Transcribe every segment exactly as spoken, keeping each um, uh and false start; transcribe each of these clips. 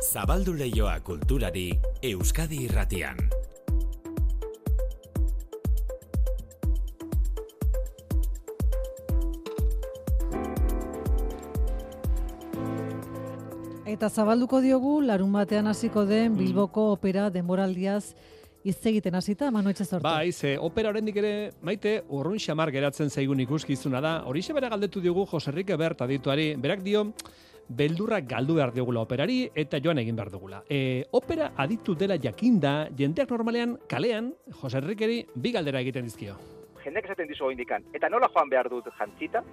Zabaldu leioa kulturari Euskadi Irratian. Eta zabalduko diogu larun batean hasiko den Bilboko opera denboraldiaz hitz egiten hasita, Manu Etxezortu. Bai, ze opera oraindik ere Maite urrun xamar geratzen zaigun ikuskizuna da. Horixe bera galdetu diogu Jose Enrique Bert adituari. Berak dio beldurra galdu behar digula operari eta joan egin behar dugula. E, opera aditu dela jakinda, jendeak normalean kalean Jose Enriqueri bi galdera egiten dizkio. Jendeak esaten dizu indikan, eta nola joan behar dut jantzita?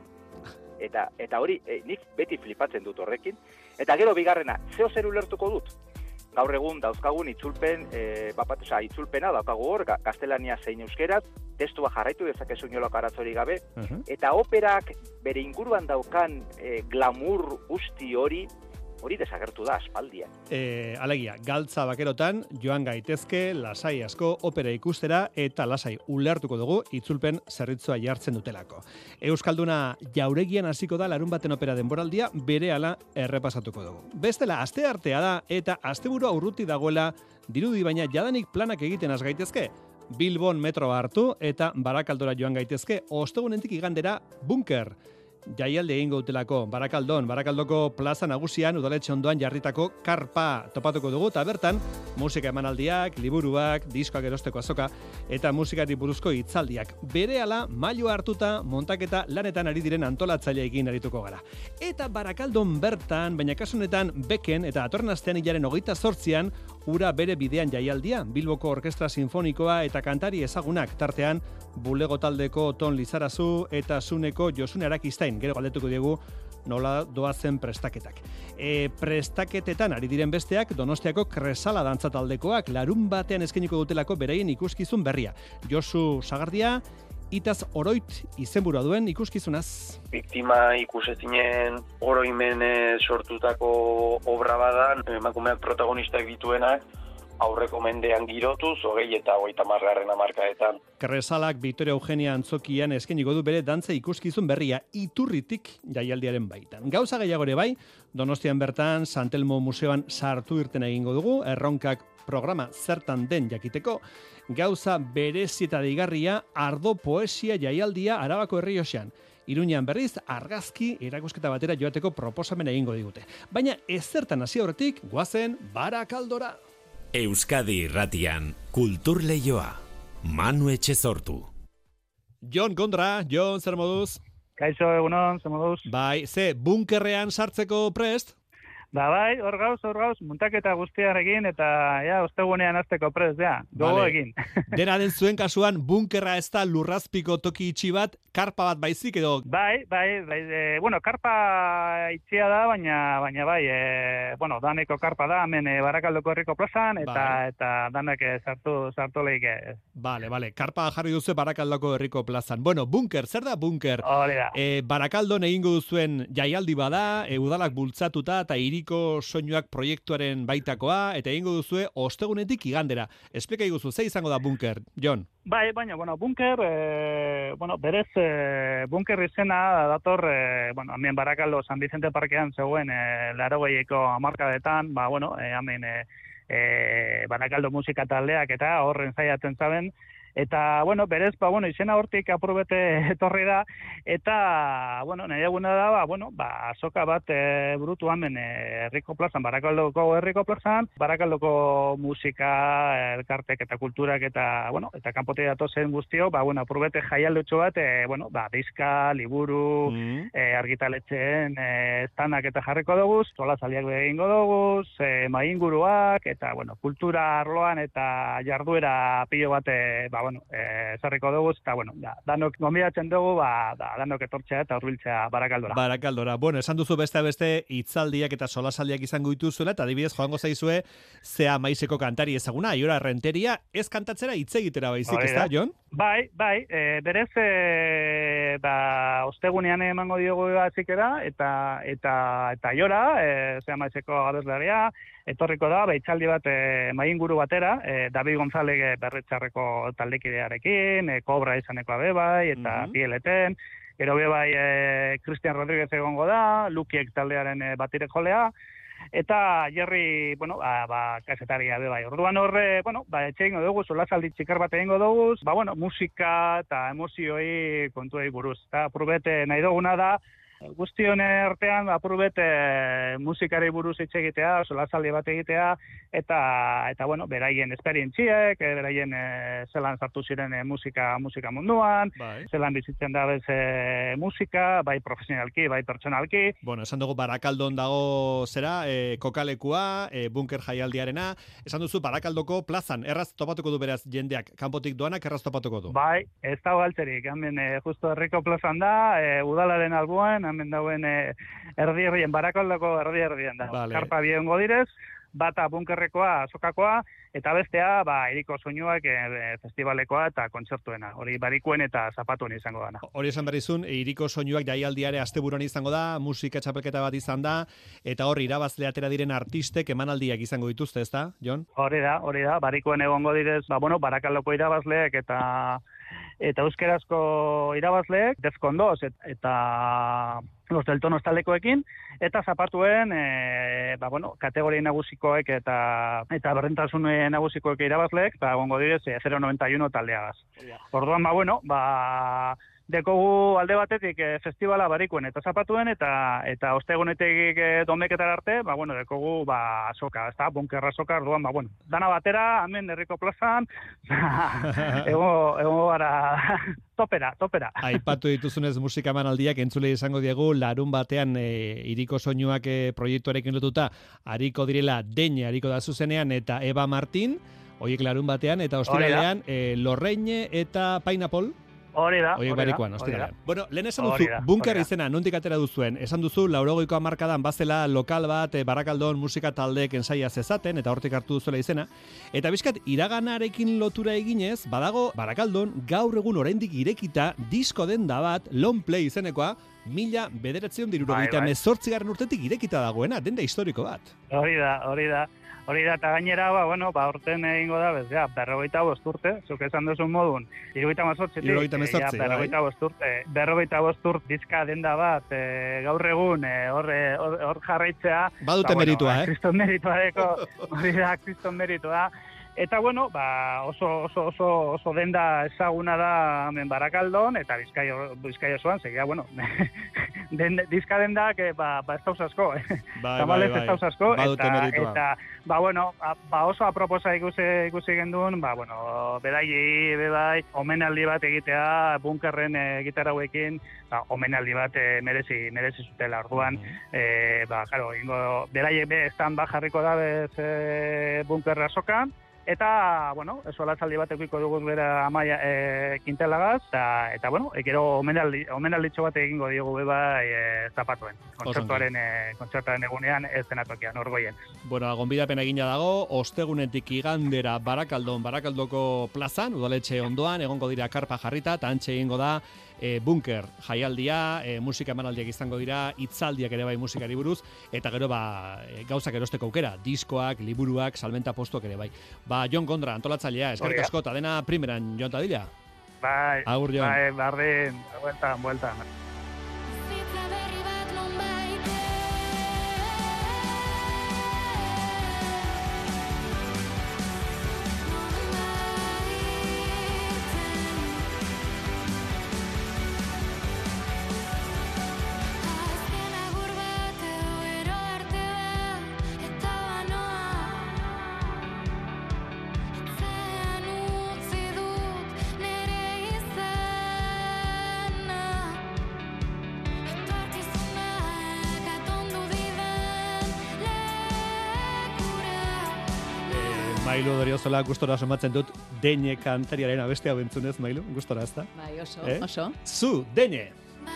Eta eta hori e, nik beti flipatzen dut horrekin. Eta gero bigarrena, zeo zer ulertuko dut? Gaur egun dauzkagun itzulpen, e, bapat, oza, itzulpena daukagu hor, gaztelania zein euskeraz, testua jarraitu dezakezu inolako arazorik gabe, uh-huh. Eta operak bere inguruan daukan e, glamour guzti hori, hori desagertu da aspaldian. E, alegia, galtza bakerotan joan gaitezke lasai asko opera ikustera eta lasai ulertuko dugu itzulpen zerritzua jartzen dutelako. Euskalduna jauregian hasiko da larun baten opera denboraldia berehala errepasatuko dugu. Bestela aste artea da eta asteburua urruti dagoela dirudi baina jadanik planak egiten has gaitezke. Bilbon metroa hartu eta Barakaldora joan gaitezke ostegunentik igandera Bunker. Jaialdi egingo dutelako Barakaldon, Barakaldoko plaza nagusian udaletxe ondoan jarritako karpa topatuko dugu eta bertan musika emanaldiak, liburuak, diskoak erosteko azoka eta musikari buruzko hitzaldiak. Berehala mailu hartuta montaketa lanetan ari diren antolatzaileekin arituko gara. Eta Barakaldon bertan, baina kasu honetan Beken eta datorren astean hilaren hogeita zortzian ura bere bidean jaialdia, Bilboko Orkestra Sinfonikoa eta kantari ezagunak tartean Bulego taldeko Ton Lizarazu eta Zuneko Josune Arakistain. Gero galdetuko diegu nola doazen prestaketak. E, prestaketetan ari diren besteak Donostiako Kresala dantza taldekoak larun batean eskainiko dutelako beraien ikuskizun berria. Josu Sagardia, Itaz Oroit izenburua duen ikuskizunaz. Biktima ikusezinen oroimen sortutako obra badan, emakumeak protagonistak dituenak, aurreko mendean girotuz, hogei eta hogeita hamargarren hamarkadetan. Kresalak Victoria Eugenia Antzokian eskainiko du bere dantza ikuskizun berria Iturritik jaialdiaren baitan. Gauza gehiago ere bai, Donostian bertan Santelmo Museoan sartu irten egingo dugu, erronkak programa zertan den jakiteko, gauza berezi eta deigarria Ardo Poesia jaialdia Arabako Errioxan. Iruñean berriz argazki erakusketa batera joateko proposamen egingo digute. Baina ezertan hasi aurretik goazen Barakaldora. Euskadi Irratian kultur leioa. Manu Etxezortu. Jon Kondra, Jon, zer moduz? Kaixo, egunon, zer moduz? Bai, ze, bunkerrean sartzeko prest? Da bai, hor gauz, hor gauz, muntaketa guztiarekin eta ja, ostegunean hasteko prest, ja, gogo egin. Dena den zuen kasuan, bunkerra ez da lurrazpiko toki itxi bat, karpa bat baizik edo? Bai, bai, bai, e, bueno, karpa itxia da, baina, baina bai, e, bueno, daneko karpa da, hemen e, Barakaldoko herriko plazan, eta bai. Eta danak sartu, sartu lehik. E. Bale, bale, karpa jarri duzu Barakaldoko herriko plazan. Bueno, bunker, zer da bunker? Hori da. E, Barakaldon egingo duzuen jaialdi bada, e, udalak bultzatuta eta hiri soinuak proiektuaren baitakoa, eta egingo duzue ostegunetik igandera. Esplika iguzu, ze izango da bunker, Jon? Bai, baina, bueno, bunker, e, bueno, berez, e, bunker izena dator, e, bueno, hemen Barakaldo San Vicente Parkean zegoen, e, larogeiko hamarkadetan, ba, bueno, e, hemen e, e, Barakaldo musika taldeak eta horren zaiatzen zaben, eta, bueno, berez, ba, bueno, izena hortik aprobete etorri da, eta, bueno, nahi eguna da, ba, bueno, ba, azoka bat e, burutu hemen e, herriko plazan, Barakaldoko herriko plazan, Barakaldoko musika, elkartek eta kulturak eta, bueno, eta kanpote datozen guztio, ba, bueno, aprobete jaialdutxo bat, e, bueno, ba, diska, liburu, mm. e, argitaletxeen, e, estanak eta jarriko dugu, sola saliak egingo dugu, e, mainguruak, eta, bueno, kultura arloan eta jarduera pilo bat, e, ba, bueno, eh, zarriko dugu, eta, bueno, da, danok gombidatzen dugu, ba, da, danok etortzea eta hurbiltzea Barakaldora. Barakaldora. Bueno, esan duzu beste beste hitzaldiak eta solasaldiak izango dituzuela, eta adibidez joango zaizue zea maizeko kantari ezaguna, Aiora Renteria, ez kantatzera hitz egitera baizik, ez da, Jon? Bai, bai, e, berez, e, ba, ostegunean emango diogu zikera, eta, eta, eta Aiora, e, zea maizeko abeslaria, etorriko da, baitzaldi bat e, mainguru batera, e, David González berretxarreko taldekidearekin, e, Kobra izaneko abe bai, eta uh-huh. Pieleten, gero be bai e, Cristian Rodríguez egongo da, Lukiek taldearen e, batire jolea, eta Jerry, bueno, ba, ba kasetaria be bai. Orduan horre, bueno, ba etxe egingo dugu, solasaldi txikar bat egingo dugu, ba bueno, musika eta emozioi kontuei buruz. Eta apurubete nahi duguna da, guztion artean apurubet e, musikari buruz hitz egitea, solasaldi bat egitea, eta, eta bueno, beraien esperientziek, e, beraien e, zelan sartu ziren e, musika, musika munduan, bai. Zelan bizitzen da bez e, musika, bai profesionalki, bai pertsonalki. Bueno, esan dugu Barakaldon dago zera, e, kokalekua, e, bunker jaialdiarena, esan duzu Barakaldoko plazan, erraz topatuko du beraz jendeak, kanpotik doanak erraz topatuko du. Bai, ez dago altzerik, hemen e, justo herriko plazan da, e, udalaren alboan, hemen dauen e, erdi-erdien, Barakaldoko erdi-erdien da. Vale. Karpa biongo direz, bata bunkerrekoa, azokakoa, eta bestea, ba, iriko soinuak e, festivalekoa eta kontzertuena. Hori barikuen eta zapatuen izango dana. Hori esan berrizun, iriko soinuak jaialdiare asteburuan izango da, musika txapelketa bat izan da, eta hor irabazle atera diren artistek emanaldiak izango dituzte, ezta, Jon? Hori da, hori da, barikuen egongo direz, ba, bueno, Barakaldoko irabazleek eta eta euskerazko irabazleek, Defkondoz eta Los del Tonos taldekoekin, eta zapatuen, e, ba, bueno, kategoria nagusikoek eta eta berdintasun nagusikoek irabazleek, ba, gongo direz, e, zero noventa y uno taldeagaz. Orduan, ba, bueno, ba, dekogu alde batetik e, festivala barikuen eta zapatuen, eta eta ostegunetik e, domeketara arte, ba, bueno, dekogu, ba, azoka, ez da, bunkerra azoka, orduan, ba, bueno, dana batera, hemen herriko plazan, ego, ego gara, topera, topera. Aipatu dituzunez musika emanaldiak entzule izango diegu, larun batean e, iriko soinuak e, proiektuarekin lotuta, hariko direla Deñe, hariko da zuzenean, eta Eva Martin, horiek larun batean, eta ostiralean, e, Lorreine eta Pineapple, Hori da, hori da. Ostiralean. Bueno, lehen esan duzu, bunker izena, nondik atera duzuen, esan duzu, laurogeiko hamarkadan bazela lokal bat, e, Barakaldon musika taldeek ensaia zezaten, eta hortik hartu duzuela izena, eta bizkat, iraganarekin lotura eginez, badago, Barakaldon, gaur egun oraindik irekita, disko denda bat, long play izenekoa, mila bederatzion dirurogeita mezortzigarren urtetik irekita dagoena, denda historiko bat. Hori da, hori da. Hori da, eta gainera, ba, bueno, ba, orten egingo da, bez, ja, berrogeita bost urte, zuk esan duzun modun, irugaita mazortzitik, irugaita mazortzi, ja, berrogeita bost urte, berrogeita bost urte dizka denda bat, e, gaur egun, e, hor, hor, hor jarraitzea. Badute ba, meritua, bueno, eh? Kriston meritua deko, hori da, kriston meritua. Eta, bueno, ba, oso, oso, oso, oso denda ezaguna da hemen Barakaldon, eta Bizkaia, Bizkaia osoan, segia, bueno, den, dizka dendak, ba, ba ez dauz asko, eh? Bai, bai, bai. Ez dauz asko, eta, eta, ba, bueno, ba, oso aproposa ikusi, ikusi gendun, ba, bueno, bedaiei, bebai, omenaldi bat egitea, bunkerren e, gitarrauekin, ba, omenaldi bat e, merezi, merezi zutela, orduan, mm-hmm. e, ba, claro, ingo, bedaiek be, estan ba jarriko da bez e, bunkerra sokan, eta, bueno, solasaldi bat eukiko dugu bera amaia e, kintelagaz, eta, eta bueno, ekero omenaldi, omenalditxo bat egingo diogu beba e, zapatuen. Kontzertuaren, e, kontzertuaren egunean ez denatokian, orgoien. Bueno, gonbidapen egina dago, ostegunetik igandera Barakaldon, Barakaldoko plazan, udaletxe ondoan, egongo dira karpa jarrita, eta antxe egingo da, E, bunker jaialdia, e, musika emanaldiak izango dira, hitzaldiak ere bai musikari buruz, eta gero ba, e, gauzak erosteko aukera, diskoak, liburuak, salmenta postuak ere bai. Ba, Jon Gondra, antolatzailea, eskerrik asko, eta dena primeran, Jon Tadila. Bai, Agur, Jon. Bai, bardin, bueltan, bueltan. Mailu Doriozola, gustora somatzen dut Deñe kantariaren abestea bentzunez, Mailu, gustora ez da? Bai, oso, eh? oso. Zu, Deñe!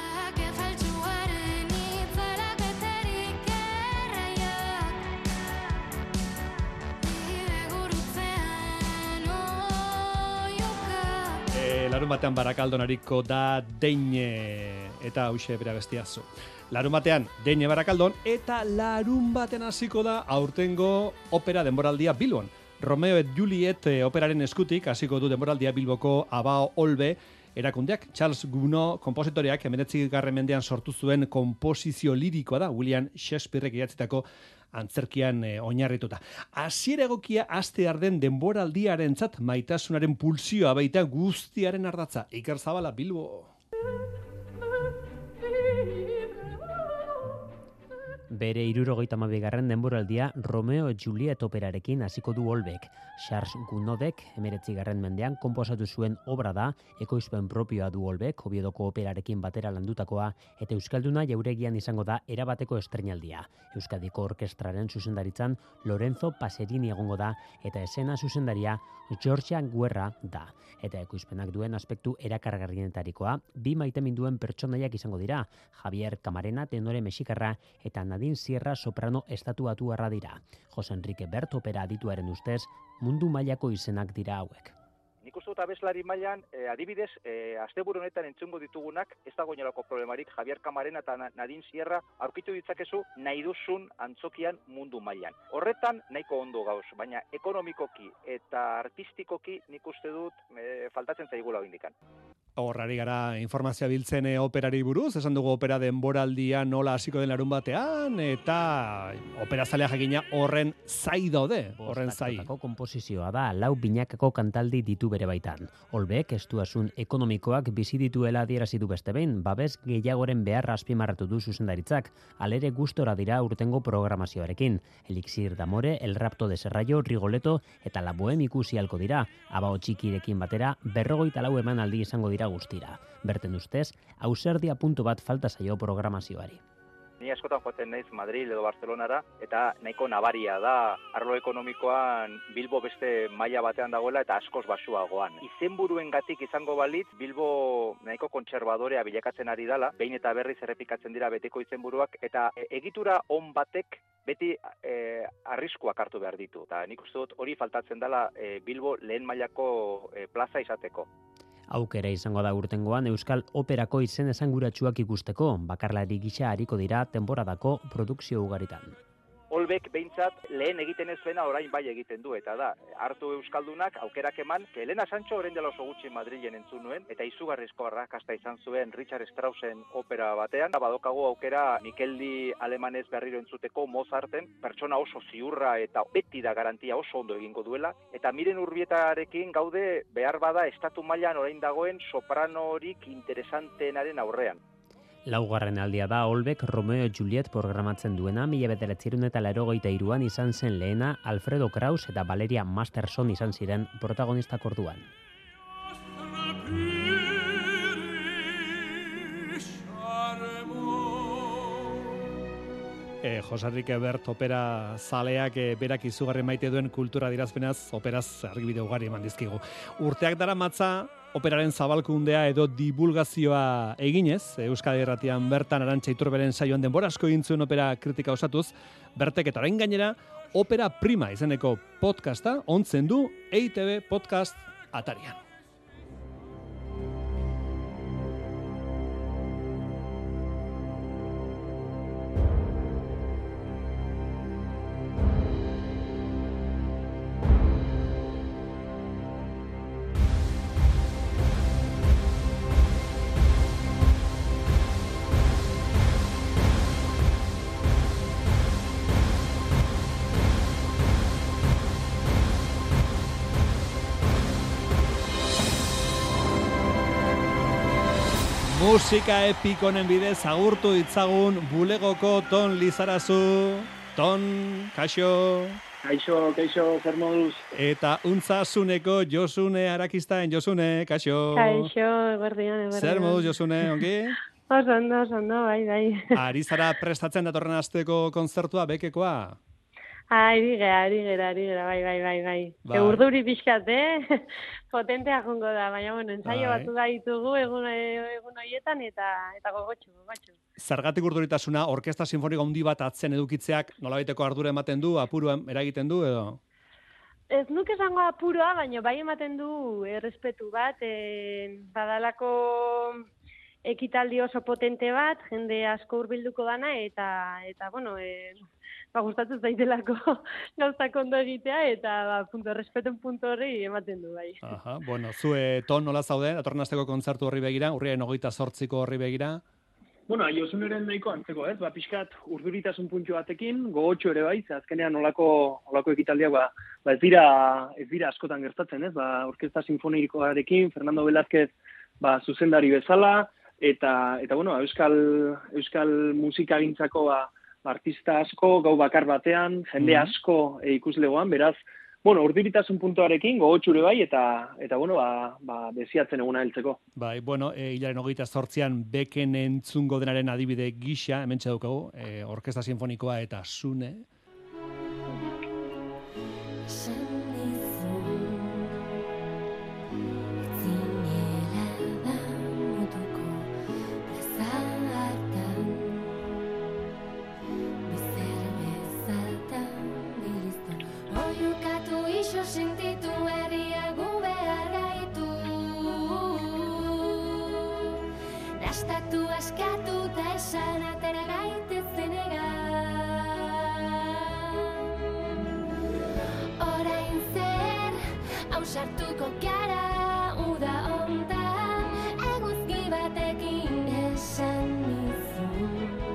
E, larun batean Barakaldon hariko da Deñe, eta hauxe bera bestia zu. Larun batean Deñe Barakaldon, eta larun batean hasiko da aurtengo opera denboraldia Bilbon. Romeo et Juliet operaren eskutik hasiko du denboraldia Bilboko Abao Olbe, erakundeak. Charles Gounod konpositoreak hemeretzigarren mendean sortu zuen konposizio lirikoa da, William Shakespearek idatzitako antzerkian e, oinarrituta. Hasiera egokia astear den denboraldiarentzat maitasunaren pulsioa baita guztiaren ardatza. Iker Zabala, Bilbo. Bere hirurogeita hamabigarren denboraldia Romeo et Juliet operarekin hasiko du Olbek. Charles Gounodek hemeretzigarren mendean konposatu zuen obra da, ekoizpen propioa du Olbek, Oviedoko operarekin batera landutakoa, eta Euskalduna jauregian izango da erabateko estreinaldia. Euskadiko orkestraren zuzendaritzan Lorenzo Paserini egongo da, eta esena zuzendaria Georgia Guerra da. Eta ekoizpenak duen aspektu erakargarrienetarikoa, bi maiteminduen pertsonaiak izango dira, Javier Camarena tenore mexikarra eta Nadine Sierra soprano estatuatuarra dira. Jose Enrique Bert opera adituaren ustez, mundu mailako izenak dira hauek. Nik uste dut abeslari mailan, eh, adibidez, eh, asteburu honetan entzungo ditugunak, ez dago inolako problemarik, Javier Camarena eta Nadine Sierra aurkitu ditzakezu nahi duzun antzokian mundu mailan. Horretan nahiko ondo gauz, baina ekonomikoki eta artistikoki nik uste dut eh, faltatzen zaigula indikan. Horrari gara informazioa biltzen e, operari buruz, esan dugu opera denboraldia nola hasiko den larun batean, eta opera zalea jakina horren zai daude, horren zai. Bost konposizioa da, lau binakako kantaldi ditu bere baitan. Olbek estuasun ekonomikoak bizi dituela adierazi du beste behin, babes gehiagoren beharra azpimarratu du zuzendaritzak, alere gustora dira urtengo programazioarekin. Elixir d'Amore, El Rapto de Serrallo, Rigoletto eta La Bohème ikusi halko dira, abao txikirekin batera, berrogeita lau emanaldi izango dira guztira. Berten ustez, ausardia puntu bat falta zaio programazioari. Ni askotan joaten naiz Madrid edo Barcelonara, eta nahiko nabaria da arlo ekonomikoan Bilbo beste maila batean dagoela eta askoz basuagoan. Izenburuengatik izango balitz, Bilbo nahiko kontserbadorea bilakatzen ari dala, behin eta berriz errepikatzen dira beteko izenburuak, eta egitura on batek beti e, arriskuak hartu behar ditu. Eta nik uste dut hori faltatzen dela e, Bilbo lehen mailako e, plaza izateko. Aukera izango da urtengoan Euskal Operako izen esanguratsuak ikusteko, bakarlari gisa hariko dira temporadako produkzio ugaritan. Olbek behintzat lehen egiten ez zuena orain bai egiten du, eta da, hartu Euskaldunak aukerak eman, que Elena Sancho orain dela oso gutxi Madrilen entzun nuen, eta izugarrizko arrakasta izan zuen Richard Straussen opera batean, badokagu aukera Mikeldi alemanez berriro entzuteko Mozarten, pertsona oso ziurra eta beti da garantia oso ondo egingo duela, eta Miren Urbietarekin gaude behar bada estatu mailan orain dagoen sopranorik interesanteenaren aurrean. Laugarren aldia da Olbek Romeo et Juliet programatzen duena, mila bederatzirun eta laurogeita hiruan izan zen lehena Alfredo Kraus eta Valeria Masterson izan ziren protagonistak orduan. E, Jose Enrique Bert opera zaleak e, berak izugarri maite duen kultura dirazpenaz operaz argibide ugari eman dizkigu. Urteak dara matza operaren zabalkundea edo divulgazioa eginez, Euskadi Irratian bertan Arantxa Iturberen saioan denbora asko egin zuen opera kritika osatuz, Bertek eta orain gainera Opera Prima izeneko podcasta ontzen du E I Te Be podcast atarian. Musika epikonen bidez agurtu ditzagun bulegoko Ton Lizarazu. Ton, kaixo. Kaixo, kaixo, zer moduz. Eta untzazuneko Josune Arakistain, Josune, kaixo. Kaixo, eguerdian, eguerdian. Zer moduz, Josune, ongi? Oso ondo, oso ondo, bai, bai. Ari zara prestatzen datorren asteko kontzertua, bekekoa? Ari gera, ari gera, ari gera, bai, bai, bai, bai. bai. Urduri pixkat, eh? Potentea jongo da, baina, bueno, ensaio bai. Batu da ditugu egun, egun horietan eta eta gogotxu, gogotxu. Zergatik urduritasuna, orkestra sinfoniko handi bat atzen edukitzeak nolabaiteko ardura ematen du, apurua eragiten du, edo? Ez nuke esango apurua, baina bai ematen du errespetu bat, e, badalako ekitaldi oso potente bat, jende asko hurbilduko dana, eta, eta bueno, e, ba, gustatzen zaitelako gauzak ondo egitea, eta ba, punto, respeten punto hori ematen du, bai. Aha, bueno, zue ton nola zaude, datorren asteko kontzertu horri begira, urriaren hogeita zortziko horri begira? Bueno, Josuneren nahiko antzeko, ez? Ba, pixkat urduritasun puntu batekin, gogotxo ere bai, ze azkenean olako, olako ekitaldiak, ba, ba ez dira, ez dira askotan gertatzen, ez? Ba, orkesta sinfonikoarekin, Fernando Velázquez, ba, zuzendari bezala, eta, eta bueno, euskal, euskal musikagintzako, ba, artista asko, gau bakar batean, jende asko e, ikuslegoan, beraz, bueno, urduritasun puntuarekin, gogotxure bai, eta, eta bueno, ba, ba, desiatzen eguna heltzeko. Bai, bueno, e, hilaren hogeita zortzian beken entzungo denaren adibide gisa, hemen txedukagu, e, orkesta sinfonikoa eta Sune. Sentitu herriagu behar gaitu, dastatu askatu eta esan atera gaitezen egan. Orain zer, hausartuko gara uda ontan, eguzki batekin esan nizu,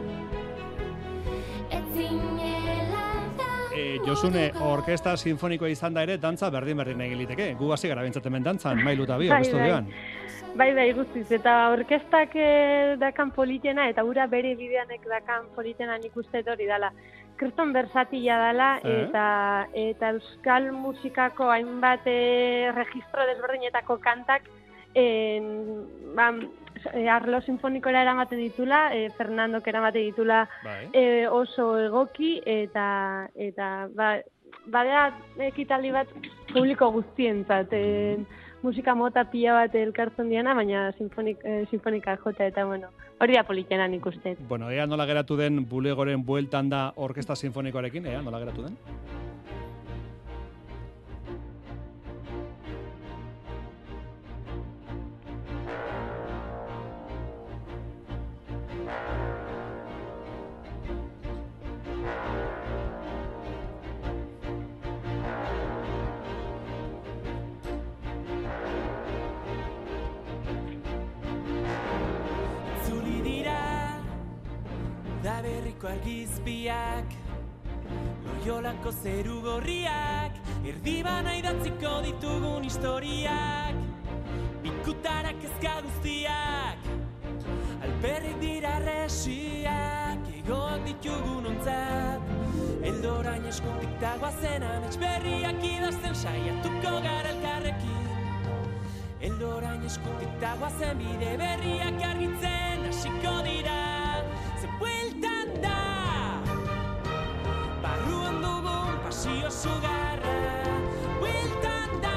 etzinela. Josune, orkesta sinfonikoa izan da ere, dantza berdin-berdin egin liteke. Gu hasi gara bentsatzen ben dantzan, Mailu eta Bio, estudioan. Bai, bai, guztiz. Eta orkestak eh, dakan politena, eta ura bere bideanek dakan politena nik uste hori dala. Kriston bersatila dala, eh? eta, eta euskal musikako hainbat eh, registro desberdinetako kantak eh, ba, arlo sinfonikora eramaten ditula, eh, Fernandok eramaten ditula eh, oso egoki, eta eta ba, badea ekitaldi bat publiko guztientzat, eh, musika mota pila bat elkartzen diana, baina sinfonik, eh, sinfonika jota, eta bueno, hori da politena nik uste. Bueno, ea nola geratu den bulegoren bueltan da orkesta sinfonikoarekin, ea nola geratu den? Argizpiak, loiolako zeru gorriak, erdibana idatziko ditugun historiak, bikutarak ezka guztiak, alperrik dira resiak, egoak ditugun ontzat, eldorain eskutik dagoazen amets berriak idazten saiatuko gara elkarrekin, eldorain eskutik dagoazen bide berriak argitzen hasiko dira, ze bueltan da, barruan dugun pasio sugarra, bueltan da,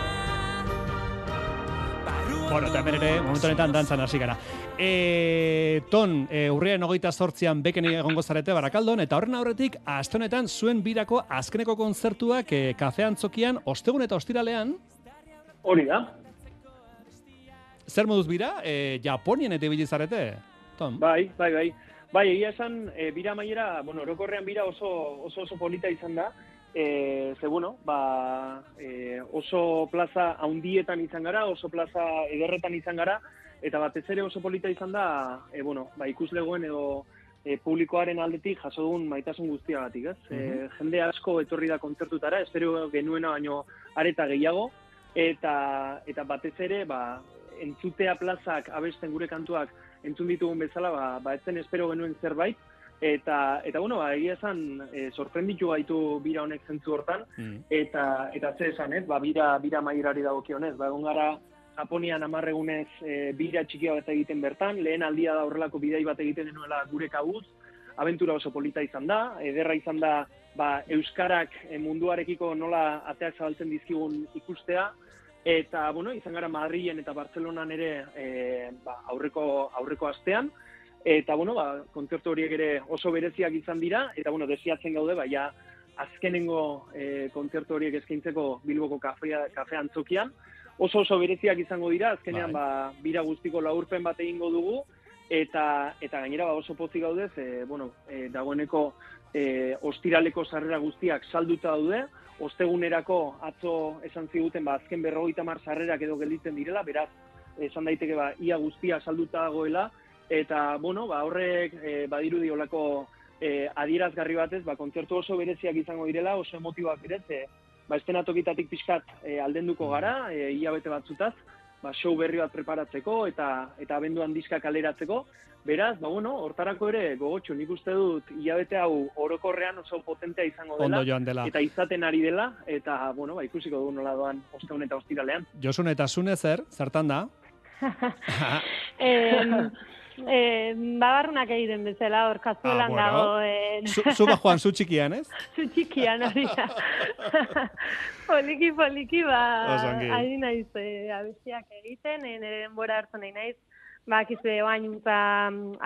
barruan bueno, eta hemen ere, momentu honetan dantzan hasi gara. E, ton, e, urriaren hogeita zortzian beken egongo zarete Barakaldon, eta horren aurretik, aste honetan zuen birako azkeneko kontzertuak e, kafe antzokian, ostegun eta ostiralean. Hori da. Zer moduz bira? E, Japonien eta ibili zarete, Ton? Bai, bai, bai. Bai, egia esan, e, bira maiera, bueno, orokorrean bira oso oso, oso polita izan da, e, ze, bueno, ba, e, oso plaza haundietan izan gara, oso plaza ederretan izan gara, eta batez ere oso polita izan da, e, bueno, ba, ikuslegoen edo e, publikoaren aldetik jaso dugun maitasun guztiagatik, ez? Mm -hmm. e, jende asko etorri da kontzertutara, espero genuena baino areta gehiago, eta, eta batez ere, ba, entzutea plazak abesten gure kantuak entzun ditugun bezala, ba, ba ez zen espero genuen zerbait, eta, eta bueno, ba, egia esan, e, sorprenditu gaitu bira honek zentzu hortan, mm. eta, eta ze esan, ez, ba, bira, bira maierari dagokionez, ba, egon gara Japonian amarregunez e, bira txikia bat egiten bertan, lehen aldia da horrelako bidai bat egiten genuela gure kabuz, abentura oso polita izan da, ederra izan da, ba, euskarak e, munduarekiko nola ateak zabaltzen dizkigun ikustea, eta, bueno, izan gara Madrilen eta Bartzelonan ere e, ba, aurreko, aurreko astean, eta, bueno, ba, kontzertu horiek ere oso bereziak izan dira, eta, bueno, desiatzen gaude, ba, ja, azkenengo e, kontzertu horiek eskaintzeko Bilboko kafea, kafe antzokian, oso oso bereziak izango dira, azkenean, ba, bira guztiko laurpen bat egingo dugu, eta eta gainera ba oso pozik gaudez, e, bueno, e, dagoeneko e, ostiraleko sarrera guztiak salduta daude, ostegunerako atzo esan ziguten ba azken berrogeita hamar sarrerak edo gelditzen direla, beraz esan daiteke ba ia guztia salduta dagoela, eta bueno, ba horrek e, badirudi holako e, adierazgarri batez, ba kontzertu oso bereziak izango direla, oso emotiboak ere, ze ba estenatokitatik pixkat e, aldenduko gara, e, hilabete batzutaz, ba show berri bat preparatzeko eta eta abenduan diska kaleratzeko. Beraz, ba bueno, hortarako ere gogotsu, nik uste dut hilabete hau orokorrean oso potentea izango dela, Ondo joan dela. eta izaten ari dela, eta bueno, ba ikusiko dugu nola doan ostegun eta ostiralean. Josun eta Zune zer, zertan da? eh, eh, babarrunak egiten bezala, hor kazuelan Ah, bueno. dago. Eh, Zu, zu ba joan, zu txikian, ez? zu txikian hori da. poliki, poliki, ba, Oso ongi. ari naiz eh, abestiak egiten, eh, nire denbora hartu nahi naiz, ba, kizue oainuntza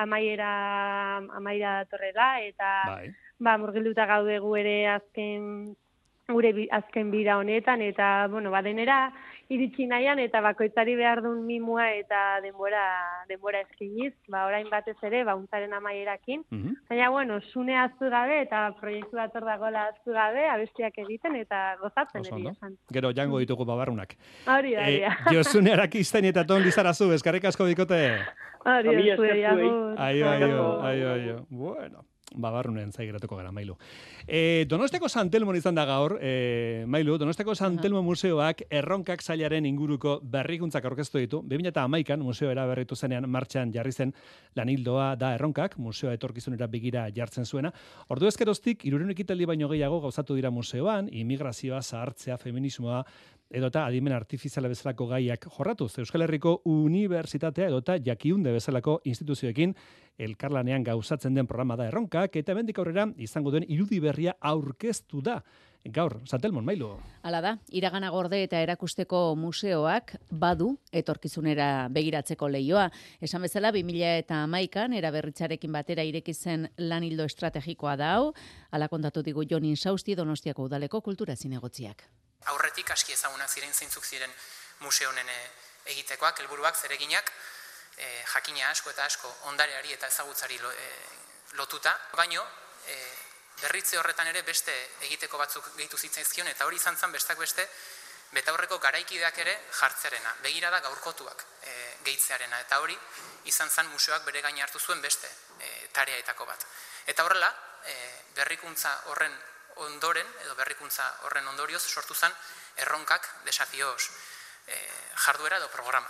amaiera, amaiera datorrela, eta Bai. ba, murgilduta gaude gu ere azken, gure bi, azken bira honetan, eta, bueno, ba, denera iritsi nahian, eta bakoitzari behar duen mimua eta denbora, denbora eskiniz, ba, orain batez ere, ba, untzaren amaierakin. Mhm. Baina, bueno, Zune ahaztu gabe, eta proiektu bat hor dagoela ahaztu gabe, abestiak egiten, eta gozatzen Oso eri ondo. esan. Gero jango ditugu babarrunak. Hori da, hori Eh, da. Josune Arakistain eta Ton Lizarazu, eskarrik asko bikote. Hori Familia da, zuei, esker zuei. agur. Aio, aio, Agur. aio, aio. Bueno, babarrunen zai geratuko gara, Mailu. E, Donosteko San Telmon izan da gaur, e, Mailu, Donosteko San Telmo museoak erronkak sailaren inguruko berrikuntzak aurkeztu ditu. bi mila hamaikan museo eraberritu zenean martxan jarri zen lanildoa da erronkak, museoa etorkizunera begira jartzen zuena. Ordu ezkeroztik, hirurehun ekitaldi baino gehiago gauzatu dira museoan, immigrazioa, zahartzea, feminismoa, edota adimen artifiziala bezalako gaiak jorratuz. Euskal Herriko Unibertsitatea edota Jakiunde bezalako instituzioekin elkarlanean gauzatzen den programa da erronkak, eta hemendik aurrera izango duen irudi berria aurkeztu da. Gaur, Santelmon, Mailu. Hala da, iragana gorde eta erakusteko museoak badu etorkizunera begiratzeko leioa. Esan bezala, bi mila hamaikan eraberritzarekin batera ireki zen lanildo estrategikoa da hau, hala kontatu digu Jon Insausti Donostiako udaleko kultura zinegotziak. Aurretik aski ezagunak ziren zeintzuk ziren museo honen egitekoak, helburuak, zereginak, e, jakina asko eta asko ondareari eta ezagutzari lo, e, lotuta, baino e, berritze horretan ere beste egiteko batzuk gehitu zitzaizkion, eta hori izan zen bestak beste betaurreko garaikideak ere jartzerena, begirada gaurkotuak e, gehitzearena, eta hori izan zen museoak bere gain hartu zuen beste e, tareaetako bat. Eta horrela, e, berrikuntza horren ondoren, edo berrikuntza horren ondorioz, sortu zen erronkak desafioz e, jarduera edo programa.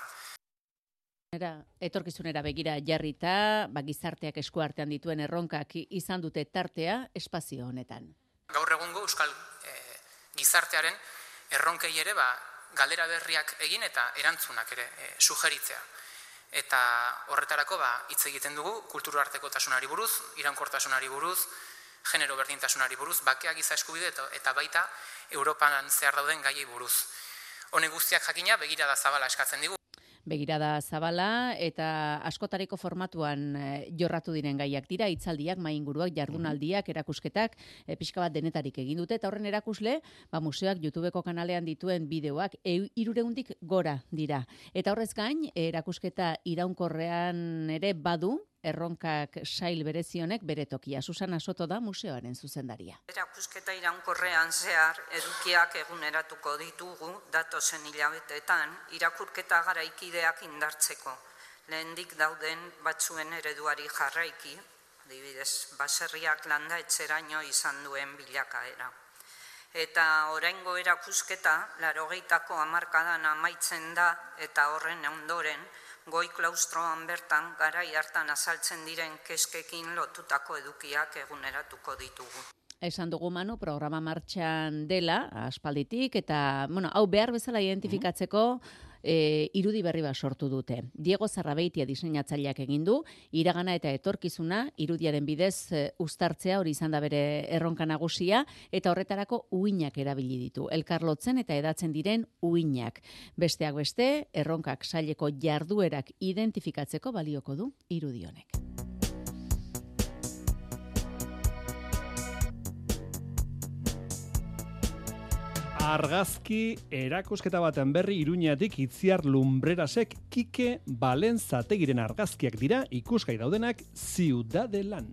Etorkizunera begira jarrita, ba, gizarteak esku artean dituen erronkak izan dute tartea espazio honetan. Gaur egungo euskal e, gizartearen erronkei ere ba, galdera berriak egin eta erantzunak ere e, sugeritzea. Eta horretarako ba, hitz egiten dugu kulturartekotasunari buruz, iraunkortasunari buruz, genero berdintasunari buruz, bakea giza eskubide eta baita Europan zehar dauden gaiei buruz. Honek guztiak jakina begirada zabala eskatzen digu. Begirada zabala eta askotariko formatuan e, jorratu diren gaiak dira, hitzaldiak, mainguruak, jardunaldiak, erakusketak, e, pixka bat denetarik egin dute, eta horren erakusle, ba, museoak YouTubeko kanalean dituen bideoak hirureundik gora dira. Eta horrez gain, erakusketa iraunkorrean ere badu, erronkak sail berezionek bere tokia. Susana Soto da museoaren zuzendaria. Erakusketa iraunkorrean zehar edukiak eguneratuko ditugu datozen hilabetetan irakurketa garaikideak indartzeko. Lehendik dauden batzuen ereduari jarraiki, adibidez, baserriak landa etxeraino izan duen bilakaera. Eta oraingo erakusketa, laurogeitako hamarkadan amaitzen da eta horren ondoren, goi klaustroan bertan garai hartan azaltzen diren keskekin lotutako edukiak eguneratuko ditugu. Esan dugu Manu, programa martxan dela, aspalditik, eta bueno, hau behar bezala identifikatzeko e, irudi berri bat sortu dute. Diego Zarrabeitia diseinatzaileak egin du, iragana eta etorkizuna, irudiaren bidez e, uztartzea hori izan da bere erronka nagusia, eta horretarako uinak erabili ditu. Elkarlotzen eta edatzen diren uinak. Besteak beste, erronkak saileko jarduerak identifikatzeko balioko du irudi honek. Argazki erakusketa baten berri Iruñatik Itziar Lumbrerasek Kike Balenzategiren argazkiak dira ikusgai daudenak Ziudadelan.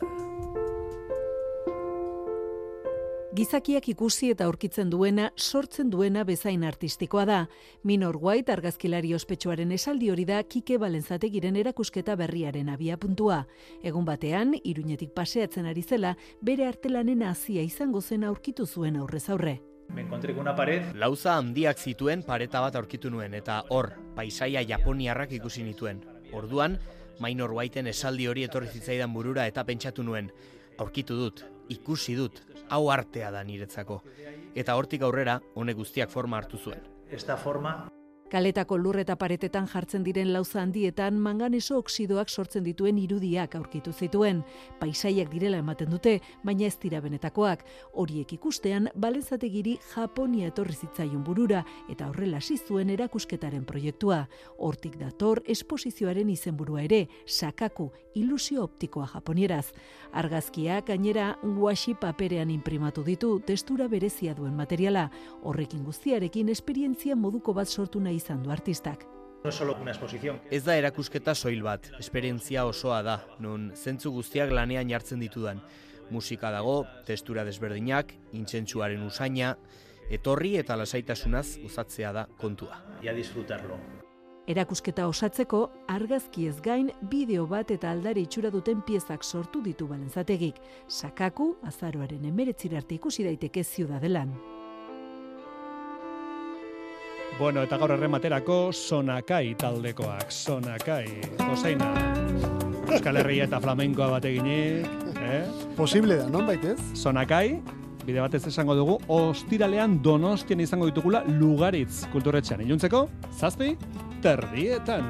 Gizakiak ikusi eta aurkitzen duena, sortzen duena bezain artistikoa da. Minor White argazkilari ospetsuaren esaldi hori da Kike Balenzategiren erakusketa berriaren abiapuntua. Egun batean, Iruñetik paseatzen ari zela, bere artelanen hazia izango zen aurkitu zuen aurrez aurre. Me encontré con una pared. Lauza handiak zituen pareta bat aurkitu nuen eta hor, paisaia japoniarrak ikusi nituen. Orduan, Minor Whiteen esaldi hori etorri zitzaidan burura eta pentsatu nuen. Aurkitu dut, ikusi dut, hau artea da niretzako. Eta hortik aurrera, honek guztiak forma hartu zuen. Esta forma... Kaletako lur eta paretetan jartzen diren lauza handietan manganeso oxidoak sortzen dituen irudiak aurkitu zituen. Paisaiak direla ematen dute, baina ez dira benetakoak. Horiek ikustean, Balenzategiri Japonia etorri zitzaion burura eta horrela hasi zuen erakusketaren proiektua. Hortik dator esposizioaren izenburua ere, Sakaku, ilusio optikoa japonieraz. Argazkiak gainera washi paperean inprimatu ditu, testura berezia duen materiala. Horrekin guztiarekin esperientzia moduko bat sortu nahi izan du artistak. No es solo una exposición. Ez da erakusketa soil bat, esperientzia osoa da, non zentzu guztiak lanean jartzen ditudan. Musika dago, testura desberdinak, intsentsuaren usaina, etorri eta lasaitasunaz usatzea da kontua. Y a disfrutarlo. Erakusketa osatzeko, argazki ez gain, bideo bat eta aldare itxura duten piezak sortu ditu Balenzategik. Sakaku, azaroaren hemeretzira arte ikusi daiteke Ziudadelan. Bueno, eta gaur errematerako Sonakai taldekoak. Sonakai, Joseina. Euskal Herria eta flamenkoa bat eginik. Eh? Posible da, non baitez? Sonakai, bide batez esango dugu, ostiralean Donostian izango ditugula Lugaritz kulturretxean. Iluntzeko, zazpi, terdietan.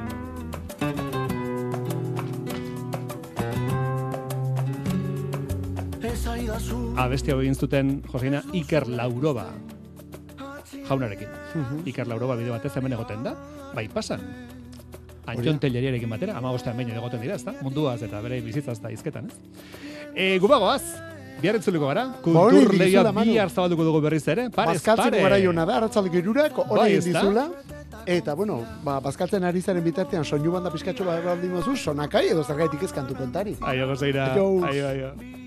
Abesti hau egin zuten, Joseina, Iker Lauroba jaunarekin. Uh-huh. Iker Lauroba bide batez hemen egoten da, bai pasan. Antxon Telleriarekin batera, ama bostean behin egoten dira, ezta? Munduaz eta bere bizitzaz da izketan, ez? E, gubagoaz, bihar entzuliko gara, kultur lehia bihar zabalduko dugu berriz ere, parez, pare! Bazkaltzeko gara jona da, arratzaldeko irurak, hori egin dizula. Eta, bueno, ba, bazkaltzen ari zaren bitartean soinu banda pizkatxo bat baldin mozu, Sonakai edo zergaitik ez kantu kontari. Aio, gozaira. Aio, aio.